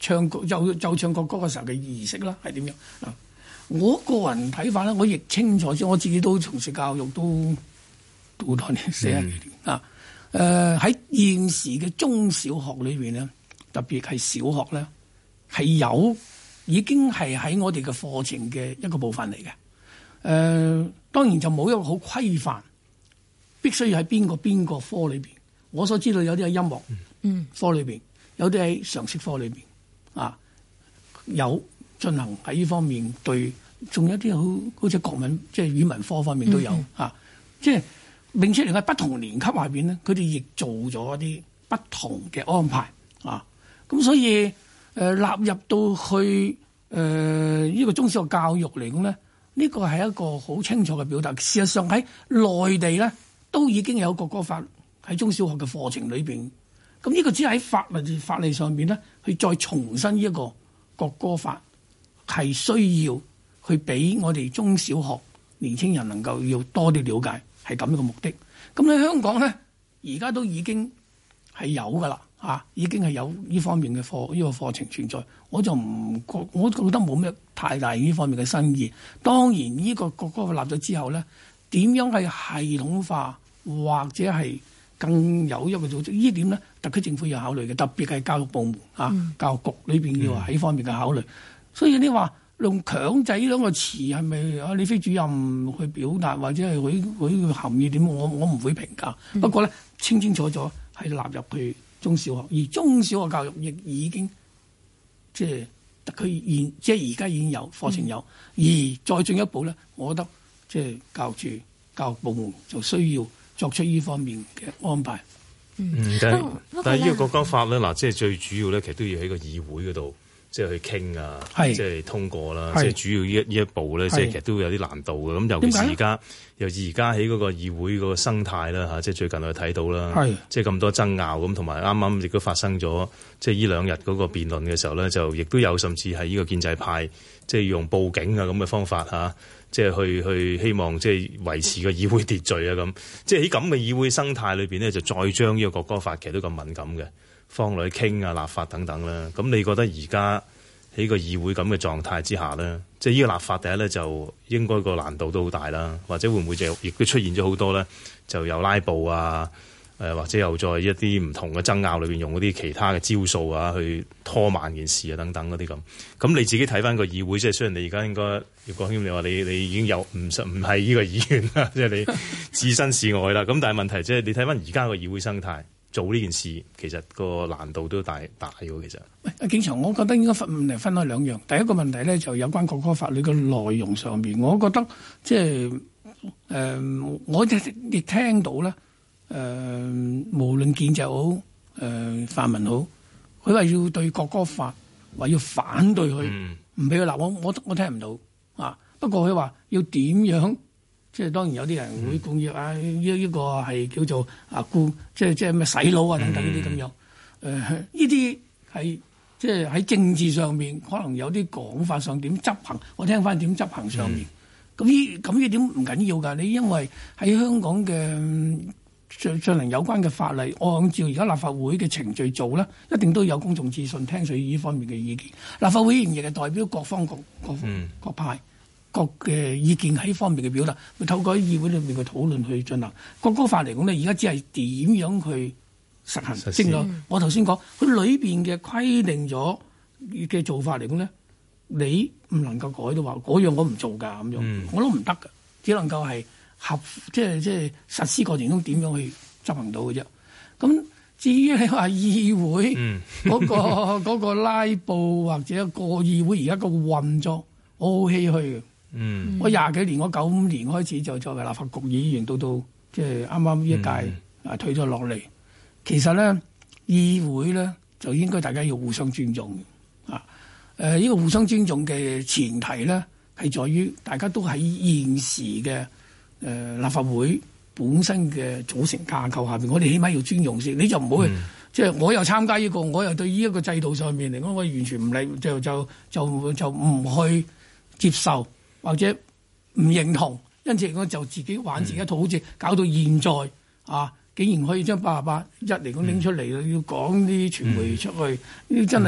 奏唱國歌嘅時候嘅儀式啦，係點樣嗱？我個人睇法咧，我亦清楚，我自己都從事教育都好多年，40幾年啊。喺現時嘅中小學裏邊咧，特別係小學咧，係已經係喺我哋嘅課程嘅一個部分嚟嘅。當然就冇一個好規範，必須要喺邊個科裏邊。我所知道有啲喺音樂科裏邊，有啲喺常識科裏邊啊，有進行喺呢方面對，仲有啲好似國文即係語文科方面都有啊，即係並且嚟喺不同年級下邊咧，佢哋亦做咗一啲不同嘅安排啊。咁所以納入到去呢個中小學教育嚟講咧，呢個係一個好清楚嘅表達。事實上喺內地咧都已經有國歌法喺中小學嘅課程裏邊。咁呢個只係喺法例上邊咧，去再重申呢一個國歌法係需要去俾我哋中小學年青人能夠要多啲了解，係咁樣嘅目的。咁喺香港咧，而家都已經係有噶啦嚇，已經係有呢方面嘅呢個課程存在。我覺得冇咩太大呢方面嘅新意。當然呢個國歌法立咗之後咧，點樣係系統化或者係更有一個組織，呢點咧，特區政府要考慮嘅，特別係教育部門教育局裏邊要喺方面嘅考慮。所以你話用強制呢兩個詞係咪李飛主任去表達，或者係佢含義點？我唔會評價。不過咧，清楚咗係納入去中小學，而中小學教育亦已經即係特區即係而家已經有課程有，而再進一步咧，我覺得即係教育部門就需要作出呢方面嘅安排。 但係呢個國歌法咧，嗱，即係最主要咧，其實都要喺個議會嗰度，即係去傾啊，即係通過啦。即係主要呢一步咧，即係其實都會有啲難度嘅。咁尤其是而家喺嗰個議會嗰個生態啦嚇，即係最近我哋睇到啦，即係咁多爭拗咁，同埋啱啱亦都發生咗，即係呢兩日嗰個辯論嘅時候咧，就亦都有甚至係呢個建制派，即係用報警啊咁嘅方法嚇。即係去希望即係維持個議會秩序啊咁，即係喺咁嘅議會生態裏邊咧，就再將呢個國歌法其實都咁敏感嘅，放落去傾啊、立法等等啦。咁你覺得而家喺個議會咁嘅狀態之下咧，即係呢個立法第一咧就應該個難度都好大啦，或者會唔會就亦都出現咗好多咧，就有拉布啊？或者又在一啲唔同嘅爭拗裏邊用嗰啲其他嘅招數啊，去拖慢件事啊等等嗰啲咁。咁你自己睇翻個議會，即係雖然你而家應該葉國謙，你話你已經有唔係呢個議員啦，即係你置身事外啦。咁但係問題即係你睇翻而家個議會生態做呢件事，其實個難度都大喎。其實， 阿景祥，我覺得應該分開兩樣。第一個問題咧就有關國歌法律嘅內容上邊，我覺得即係我亦聽到咧。無論建制好，泛民好，佢話要對國歌法話要反對佢，唔俾佢立，我聽唔到啊。不過佢話要點樣，即係當然有啲人會講要呢個係叫做即係咩洗腦啊等等呢啲咁樣。呢啲係即係喺政治上面可能有啲講法上點執行，我聽翻點執行上面。咁呢點唔緊要㗎，你因為喺香港嘅。進行有關嘅法例，按照而家立法會嘅程序做咧，一定都有公眾諮詢，聽取呢方面嘅意見。立法會議員亦係代表各方各派各嘅意見喺呢方面嘅表達，會透過喺議會裏面嘅討論去進行。國歌法嚟講咧，而家只係點樣去實行。正如我頭先講，佢裏邊嘅規定咗嘅做法嚟講咧，你唔能夠改到話嗰樣我唔做㗎咁樣，我都唔得㗎，只能夠係。即係實施過程中點樣去執行到嘅啫。咁至於你話議會嗰個拉布或者個議會而家個運作，我好唏噓嘅。我20幾年，我95年開始就作為立法局議員，到即係啱啱呢一屆退咗落嚟。其實咧，議會咧就應該大家要互相尊重啊。呢個互相尊重嘅前提咧係在於大家都喺現時嘅。立法會本身嘅組成架構下邊，我哋起碼要尊重先。你就唔好即係我又參加呢個，我又對呢一個制度上面嚟講，我完全唔理，就唔去接受或者唔認同，因此我就自己玩自己一套，好似搞到現在竟然可以將88.1嚟講拎出嚟，要講啲傳媒出去，呢啲真係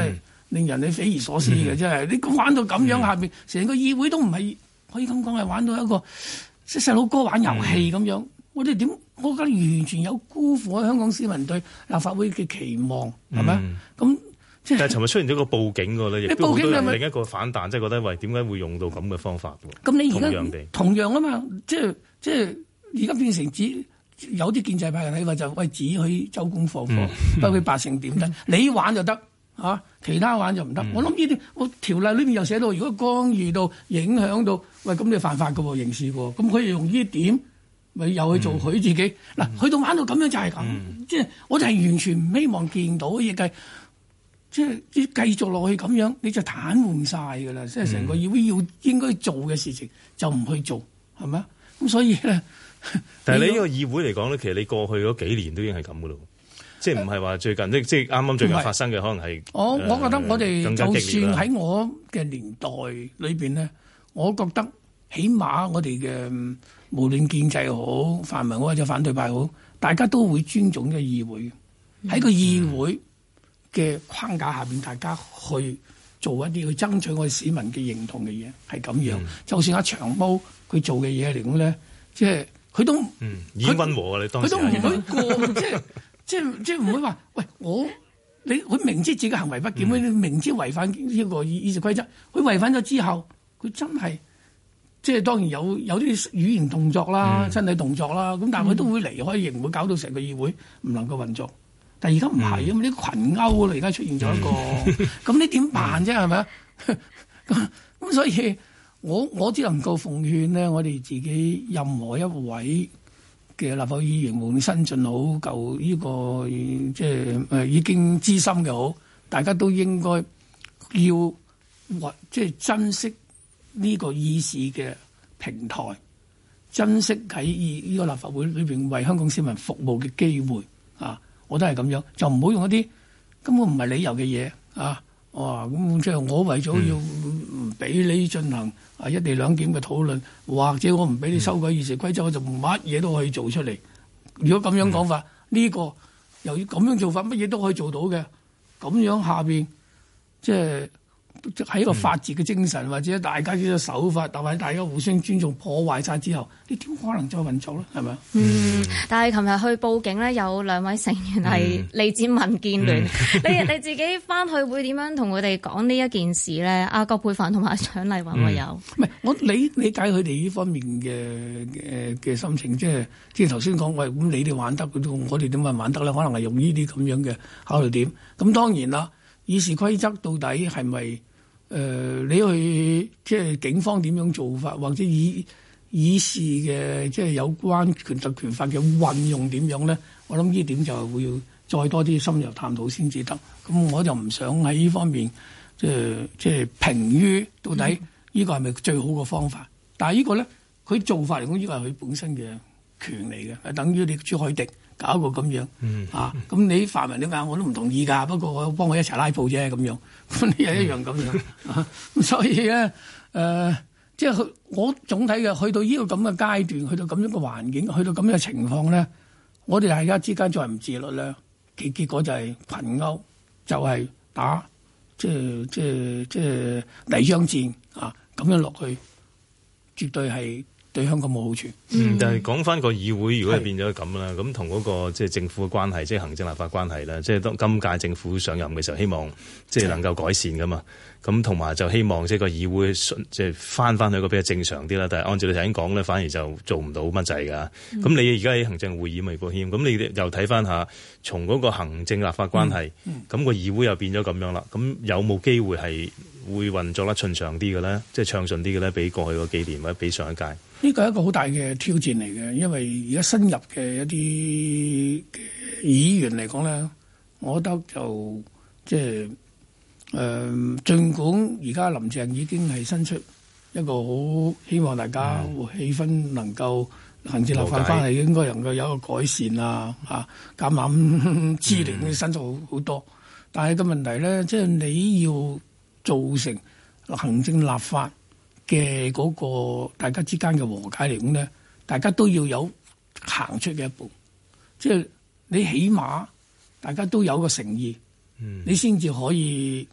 令人哋匪夷所思嘅，真係你玩到咁樣，下邊成個議會都唔係可以咁講係玩到一個即係細佬哥玩遊戲咁樣。我哋點？我覺得完全有辜負香港市民對立法會嘅期望，係咪？咁即係。但係尋日出現咗個報警㗎咧，亦都好多人另一個反彈，即係覺得喂點解會用到咁嘅方法喎？咁你而家同樣啊嘛，即係而家變成有啲建制派嘅睇法就喂只許周公放火，不許百姓點得？你玩就得嚇，其他玩就唔得。我諗呢啲我條例裏面又寫到，如果干預到影響到，喂咁你犯法㗎喎，刑事喎，咁佢用呢點？咪又去做佢自己嗱，去到玩到咁樣就係咁，即係我就係完全唔希望見到，亦係即係繼續落去咁樣，你就癱瘓晒㗎啦！即係成個議會應該做嘅事情就唔去做，係咪啊？咁所以咧，但係你呢個議會嚟講咧，其實你過去嗰幾年都已經係咁㗎咯，即係唔係話最近即係啱啱最近發生嘅，可能係我覺得我哋就算喺我嘅年代裏邊咧，我覺得起碼我哋嘅。無論建制好、泛民好或者反對派好，大家都會尊重嘅議會。喺個議會嘅框架下邊，大家去做一啲去爭取我哋市民嘅認同嘅嘢，係咁樣。就算阿長毛佢做嘅嘢嚟講咧，即係佢都已經溫和啊！你當時佢都唔會過，即係唔會話喂佢明知自己行為不檢，明知違反呢個議事規則，佢違反咗之後，佢真係。即係當然有啲語言動作啦、身體動作啦，咁但係佢都會離開，亦唔會搞到成個議會唔能夠運作。但係而家唔係，因為啲群毆而家出現咗一個，咁你點辦啫？係咪啊？咁所以我只能夠奉勸呢，我哋自己任何一位嘅立法會議員，無論新進好舊呢個即係已經資深嘅好，大家都應該要即係珍惜呢個議事嘅平台，珍惜喺呢個立法會裏邊為香港市民服務嘅機會啊！我都係咁樣，就唔好用一啲根本唔係理由嘅嘢啊！咁即係我為咗要唔俾你進行一地兩檢嘅討論，或者我唔俾你修改議事規則，我就乜嘢都可以做出嚟。如果咁樣講法，呢個又要咁樣做法，乜嘢都可以做到嘅，咁樣下邊即係。喺一個法治嘅精神，或者大家嘅手法，或者大家互相尊重，破壞晒之後，你點可能再運作咧？係咪？ 但係琴日去報警咧，有兩位成員係嚟自民建聯，你自己翻去會點樣同佢哋講呢一件事咧？阿葛珮帆同埋蔣麗芸會有？唔係我理解佢哋呢方面嘅心情，即係頭先講喂，咁你哋玩得，我哋點解玩得咧？可能係用呢啲咁樣嘅考慮點。咁當然啦。議事規則到底係咪你去即係警方點樣做法，或者議事嘅即係有關權特權法嘅運用點樣咧？我諗呢點就會要再多啲深入探討先至得。咁我就唔想喺呢方面即係評於到底呢個係咪最好嘅方法。但係呢個咧，佢做法嚟講，呢個係佢本身嘅權嚟嘅，係等於你朱凱廸。搞個咁樣咁你泛民點解我都唔同意㗎？不過我幫我一齊拉布啫咁樣，咁你又一樣咁樣咁所以咧即係我總體嘅去到呢個咁嘅階段，去到咁樣嘅環境，去到咁樣嘅情況咧，我哋大家之間再唔自律咧，結果就係群毆，就係打即係泥漿戰咁樣落去，絕對係。對香港冇好處。 但係講翻個議會，如果係變咗咁啦，咁同嗰個即係政府嘅關係，即係行政立法關係啦，即係當今屆政府上任嘅時候，希望即係能夠改善噶嘛。咁同埋就希望即係個議會即係翻去一個比較正常啲啦。但係按照你頭先講咧，反而就做唔到乜滯㗎。咁你而家喺行政會議咪保險？咁你又睇翻下，從嗰個行政立法關係，咁個議會又變咗咁樣啦。咁有冇機會係會運作得順暢啲嘅咧？即係暢順啲嘅咧？比過去嗰幾年或者比上一屆？ 呢個係一個好大嘅挑戰嚟嘅，因為而家新入嘅一啲議員嚟講咧，我覺得就即係儘管而家林鄭已經係伸出一個好希望大家氣氛能夠行政立法關係應該能夠有一個改善啊，橄欖枝嚟嘅伸出好多，但係個問題咧，即係你要造成行政立法嘅嗰個大家之間嘅和解嚟講咧，大家都要有行出嘅一步，即係你起碼大家都有個誠意，你先至可以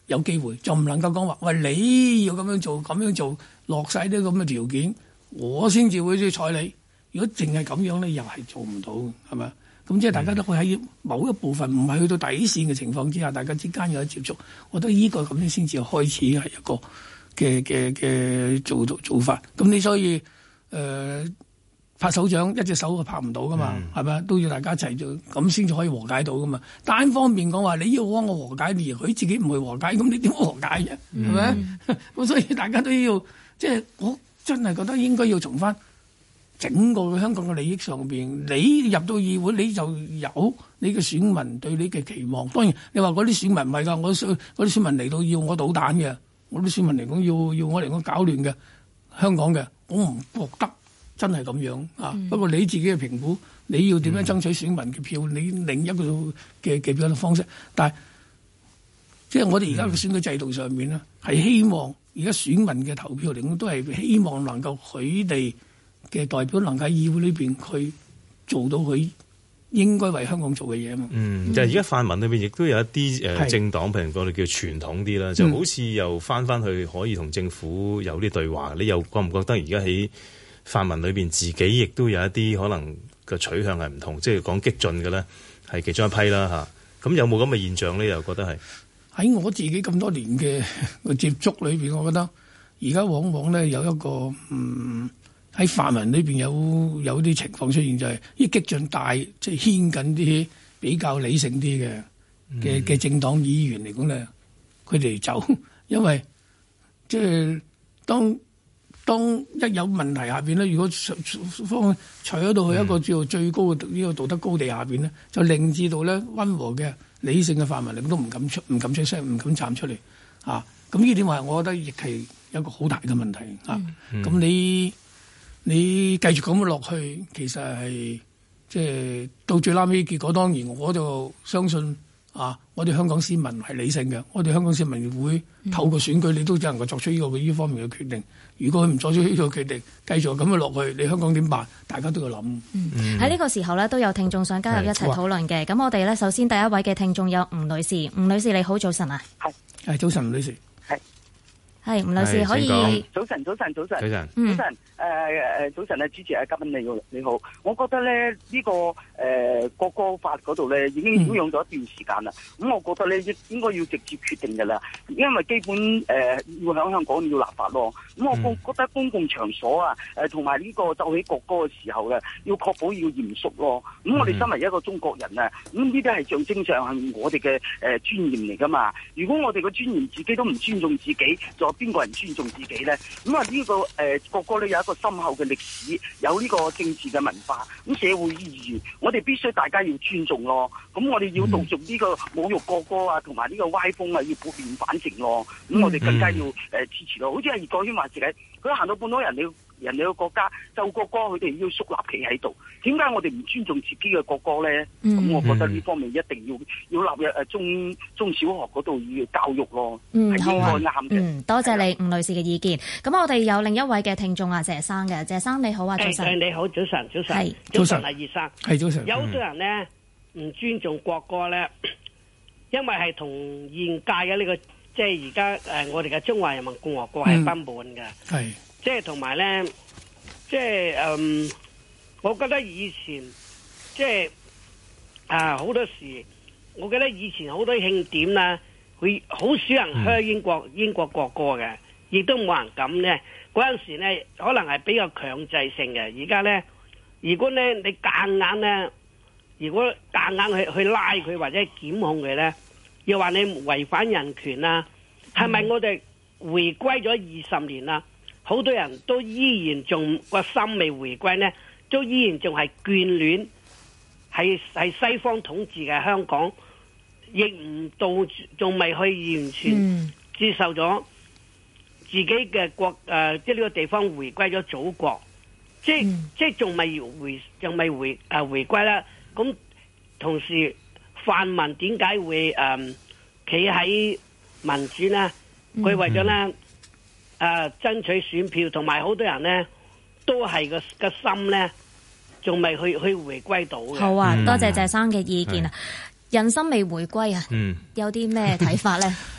有機會，就唔能夠講話喂你要咁樣做落晒啲咁嘅條件，我先至會去睬你。如果淨係咁樣咧，又係做唔到，係咪？咁即係大家都會喺某一部分唔係去到底線嘅情況之下，大家之間有得接觸，我覺得呢個咁樣先至開始係一個嘅做法。咁你所以拍手掌一隻手就拍唔到噶嘛，係咪？都要大家一齊做，咁先至可以和解到噶嘛。單方面講話你要幫我和解，而佢自己唔去和解，咁你點和解啫？係咪？咁所以大家都要即係我真係覺得應該要從翻整個香港嘅利益上邊，你入到議會你就有你嘅選民對你嘅期望。當然你話嗰啲選民唔係㗎，嗰啲選民嚟到要我搗蛋嘅，我啲選民嚟講要我嚟講搞亂嘅香港嘅，我唔覺得真係咁樣啊。不過你自己嘅評估，你要點樣爭取選民嘅票，你另一個嘅表達方式。但係即係我哋而家嘅選舉制度上面咧，係希望而家選民嘅投票嚟講，都係希望能夠佢哋嘅代表能夠喺議會裏邊去做到佢應該為香港做嘅嘢啊嘛。 就係而家泛民裏邊亦都有一啲政黨，譬如我哋叫傳統啲啦，就好似又翻去可以同政府有啲對話。你又覺唔覺得而家喺泛民裏邊自己亦都有一啲可能嘅取向係唔同，即係講激進嘅咧係其中一批啦嚇。咁有冇咁嘅現象咧？又覺得係喺我自己咁多年嘅接觸裏邊，我覺得而家往往咧有一個喺泛民裏邊有啲情況出現，就係啲激進大即係牽緊啲比較理性啲嘅政黨議員嚟講咧，佢哋走，因為即係當一有問題下邊咧，如果方除咗到去一個叫做最高嘅呢個道德高地下邊咧，就令至到咧溫和嘅理性嘅泛民嚟講都唔敢出聲，唔敢站出嚟啊！咁呢點話，我覺得亦係一個好大嘅問題啊！咁你繼續咁樣落去，其實係即係到最拉尾結果。當然我就相信啊，我哋香港市民係理性嘅，我哋香港市民會透過選舉，你都只能夠作出呢方面嘅決定。如果佢唔作出呢個決定，繼續咁樣落去，你香港點辦？大家都要諗。 喺呢個時候呢，都有聽眾想加入一齊討論嘅。咁我哋呢，首先第一位嘅聽眾有吳女士。吳女士你好，早晨啊。 係早晨，吳女士。 係吳女士可以。 早晨。早晨啊，主持啊，嘉賓你好。我覺得咧呢個國歌法嗰度咧已經擾攘咗一段時間啦。咁我覺得咧應該要直接決定㗎啦，因為基本要喺香港要立法咯。咁我覺得公共場所啊同埋呢個奏起國歌嘅時候咧，要確保要嚴肅咯。咁我哋身為一個中國人啊，咁呢啲係象徵上係我哋嘅尊嚴嚟㗎嘛。如果我哋嘅尊嚴自己都唔尊重自己，仲有邊個人尊重自己咧？咁啊呢個國歌咧有一個深厚嘅歷史，有呢個政治嘅文化，咁社會意義，我哋必須大家要尊重咯。咁我哋要杜絕呢個侮辱國歌啊，同埋呢個歪風啊，要撥亂反正咯。咁我哋更加要支持咯。好似係葉國謙話自己，佢行到半島人哋嘅國家奏國歌，佢哋要肅立企喺度。點解我哋唔尊重自己嘅國歌咧？咁我覺得呢方面一定要納入中小學嗰度要教育咯。係應該啱嘅。 多謝你吳女士嘅意見。咁我哋有另一位嘅聽眾啊，謝生嘅。謝生你好啊，早晨。 你好，早晨。 係早晨啊，葉生。 係早晨。 有好多人咧唔尊重國歌咧，因為係同現屆嘅呢個即係而家我哋嘅中華人民共和國係不滿嘅。 係。 即係同埋咧，即係我覺得以前即係好多時，我記得以前好多慶典啦，會好少人唱英國國歌嘅，亦都冇人敢咧。嗰陣時咧，可能係比較強制性嘅。而家咧，如果咧你夾硬咧，如果夾硬去拉佢或者檢控佢咧，又話你違反人權啦，係咪我哋回歸咗20年啦？好多人都依然仲個心未回歸呢，都依然仲係眷戀係西方統治嘅香港，亦唔到仲未去完全接受咗自己嘅國即係呢個地方回歸咗祖國，即係仲未回歸啦。咁同時泛民點解會企喺民主呢？佢為咗呢。爭取選票，同埋好多人呢都係個心呢仲未去回歸到嘅。 好啊，多謝謝生嘅意見啊！人心未回歸啊，有啲咩睇法呢？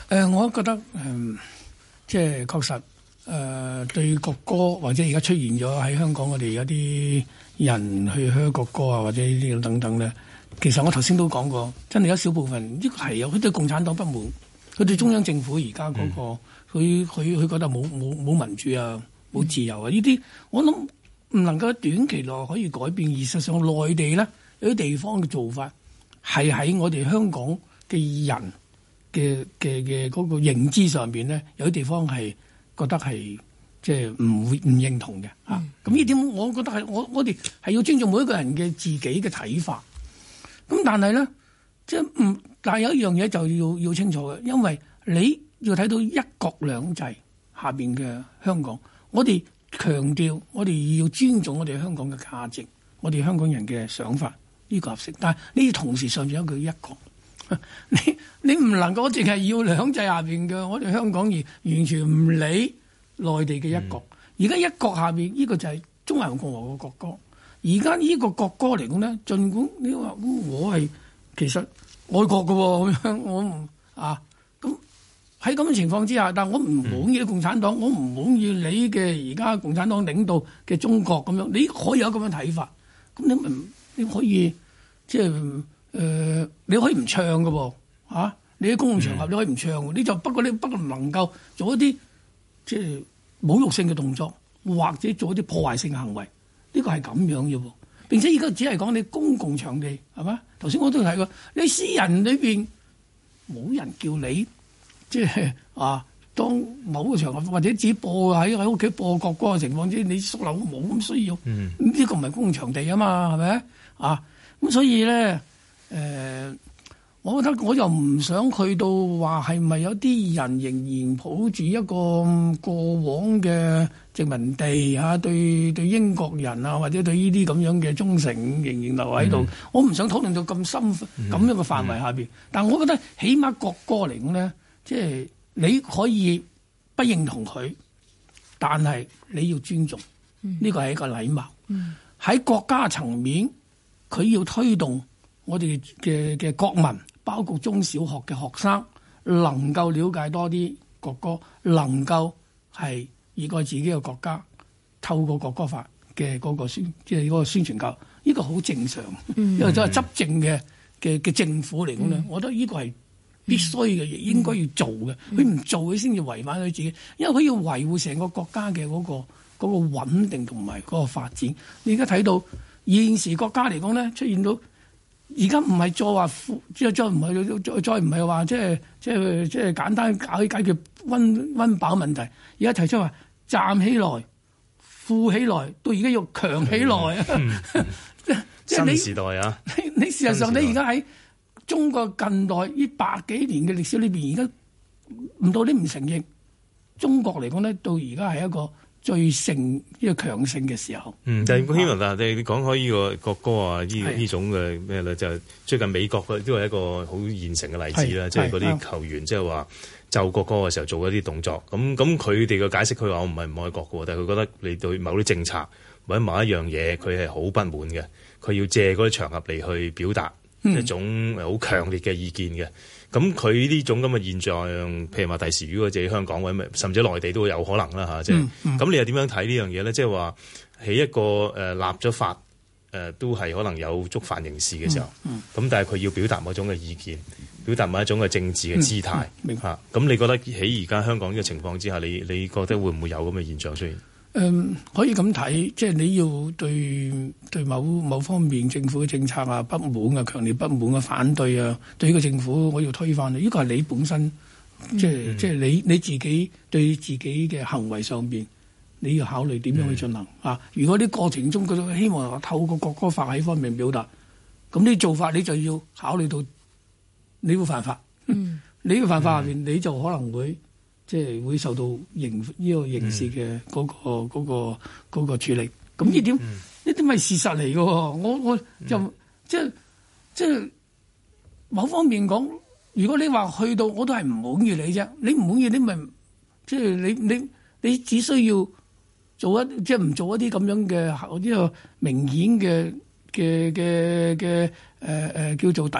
我覺得即係確實對國歌或者而家出現咗喺香港，我哋有啲人去噓國歌啊，或者呢啲等等咧。其實我頭先都講過，真係有少部分呢個係有佢對共產黨不滿，佢對中央政府而家嗰個佢覺得冇民主啊，冇自由啊，呢啲我諗唔能夠短期內可以改變。而事實上內地咧有啲地方嘅做法係喺我哋香港嘅人嘅嗰個認知上邊咧，有啲地方係覺得係即係唔認同嘅嚇。咁呢點我覺得係我哋係要尊重每一個人嘅自己嘅睇法。咁但係咧，即係但係有一樣嘢就要清楚嘅，因為你要睇到一國兩制下邊嘅香港，我哋強調我哋要尊重我哋香港嘅價值，我哋香港人嘅想法呢個合適。但係呢同時上面有一句一國，你唔能夠淨係要兩制下邊嘅我哋香港而完全唔理內地嘅一國。而家一國下邊呢個就係中華人民共和國國歌。而家呢個國歌嚟講咧，儘管你話我係其實愛國嘅喎，咁樣我唔咁喺咁嘅情況之下，但係我唔滿意共產黨，我唔滿意你嘅而家共產黨領導嘅中國咁樣，你可以有咁樣睇法，咁你可以即係你可以唔唱嘅喎，你喺公共場合你可以唔唱嘅，你就不過唔能夠做一啲即係侮辱性嘅動作，或者做一啲破壞性嘅行為。呢個係咁樣嘅喎，並且而家只係講你公共場地係嘛？頭先我都提過，你私人裏邊冇人叫你即係當某個場合或者自己播喺屋企播國歌嘅情況之下，你縮樓冇咁需要。呢個唔係公共場地啊嘛，係咪咁所以咧我覺得我又唔想去到話係咪有啲人仍然抱住一個過往嘅殖民地對英國人或者對呢啲咁樣嘅忠誠仍然留喺度。我唔想討論到咁深咁樣嘅範圍下邊。但我覺得起碼國歌嚟講咧，即係你可以不認同佢，但係你要尊重，呢個係一個禮貌。喺國家層面，佢要推動我哋嘅國民，包括中小學嘅學生，能夠了解多啲國歌，能夠係熱愛自己嘅國家，透過國歌法嘅嗰個即係嗰個宣傳教育，呢個好正常。因為作為執政嘅政府嚟講咧，我覺得呢個係必須嘅，亦應該要做嘅。佢唔做，佢先至違反佢自己，因為佢要維護成個國家嘅嗰個穩定同埋嗰個發展。你而家睇到現時國家嚟講咧，出現到而家唔係再話再唔係話即係簡單解決溫飽問題，而家提出話站起來、富起來，到而家要強起來啊！即係新時代啊！ 你事實上你而家喺中國近代呢100幾年嘅歷史裏邊，而家唔到你唔承認中國嚟講咧，到而家係一個最盛呢個強盛嘅時候。 但係希望你講開呢個國歌啊，呢種嘅咩咧，就係最近美國都係一個好現成嘅例子啦，即係嗰啲球員即係話奏國歌嘅時候做一啲動作，咁佢哋嘅解釋，佢話我唔係唔愛國嘅，但係佢覺得你對某啲政策或者某一樣嘢，佢係好不滿嘅，佢要借嗰啲場合嚟去表達一種好強烈嘅意見嘅。咁佢呢種咁嘅現象，譬如話第時如果自己香港或者甚至內地都會有可能啦嚇，即係咁你又點樣睇呢樣嘢咧？即係話喺一個立咗法都係可能有觸犯刑事嘅時候，咁但係佢要表達某種嘅意見，表達某一種嘅政治嘅姿態嚇。咁你覺得喺而家香港呢個情況之下，你覺得會唔會有咁嘅現象出現？ 可以咁睇，即係你要對某方面政府嘅政策不滿啊，強烈不滿啊，反對啊，對呢個政府我要推翻呢個係你本身，即係你自己對自己嘅行為上邊，你要考慮點樣去進行如果啲過程中佢希望透過國歌法喺方面表達，咁呢做法你就要考慮到你會犯法，你會犯法下邊你就可能會。即係會受到刑事嘅嗰個處理，咁呢點係事實嚟嘅喎。我就即係某方面講，如果你話去到我都係唔滿意你啫，你唔滿意你咪即係你只需要做即係唔做一啲咁樣嘅呢個明顯嘅叫做抵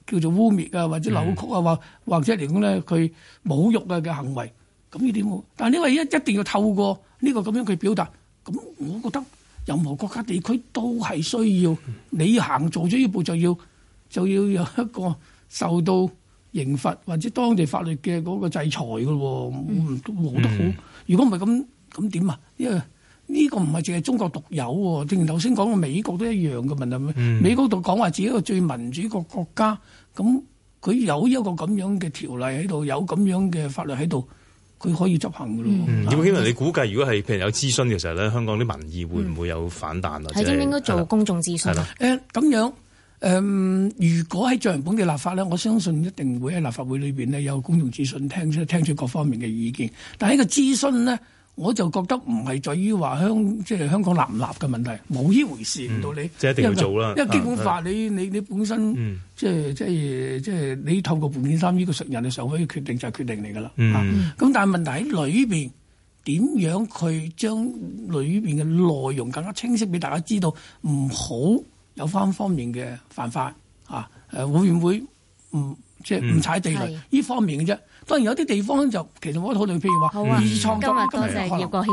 叫做污衊啊，或者扭曲啊，或者嚟講咧佢侮辱啊嘅行為，咁呢點好？但係因為一定要透過呢個咁樣去表達，咁我覺得任何國家地區都係需要你做咗呢步就要有一個受到刑罰或者當地法律嘅嗰個制裁㗎喎，我得好。如果唔係咁點啊？因為呢個唔係淨係中國獨有喎，正如頭先講嘅美國都一樣嘅問題。美國度講話自己一個最民主個國家，咁佢有一個咁樣嘅條例喺度，有咁樣嘅法律喺度，佢可以執行㗎咯。 葉國謙，你估計如果係譬如有諮詢嘅時候咧，香港啲民意會唔會有反彈啊？ 係應唔應該做公眾諮詢？ 咁樣。如果喺進行本地立法咧，我相信一定會喺立法會裏邊咧有公眾諮詢，聽取各方面嘅意見。但係呢個諮詢咧，我就覺得唔係在於話即係香港立唔立嘅問題，冇呢回事唔到你。 即係一定要做啦。 因為基本法你本身即係你透過附件3呢個人嘅常委嘅決定就係決定嚟㗎啦。咁但係問題喺裏邊點樣去將裏邊嘅內容更加清晰俾大家知道，唔好有方面嘅犯法會唔會即係唔踩地雷呢方面嘅啫。當然有啲地方就其實我討論，譬如話二創作， 今日多謝葉國謙。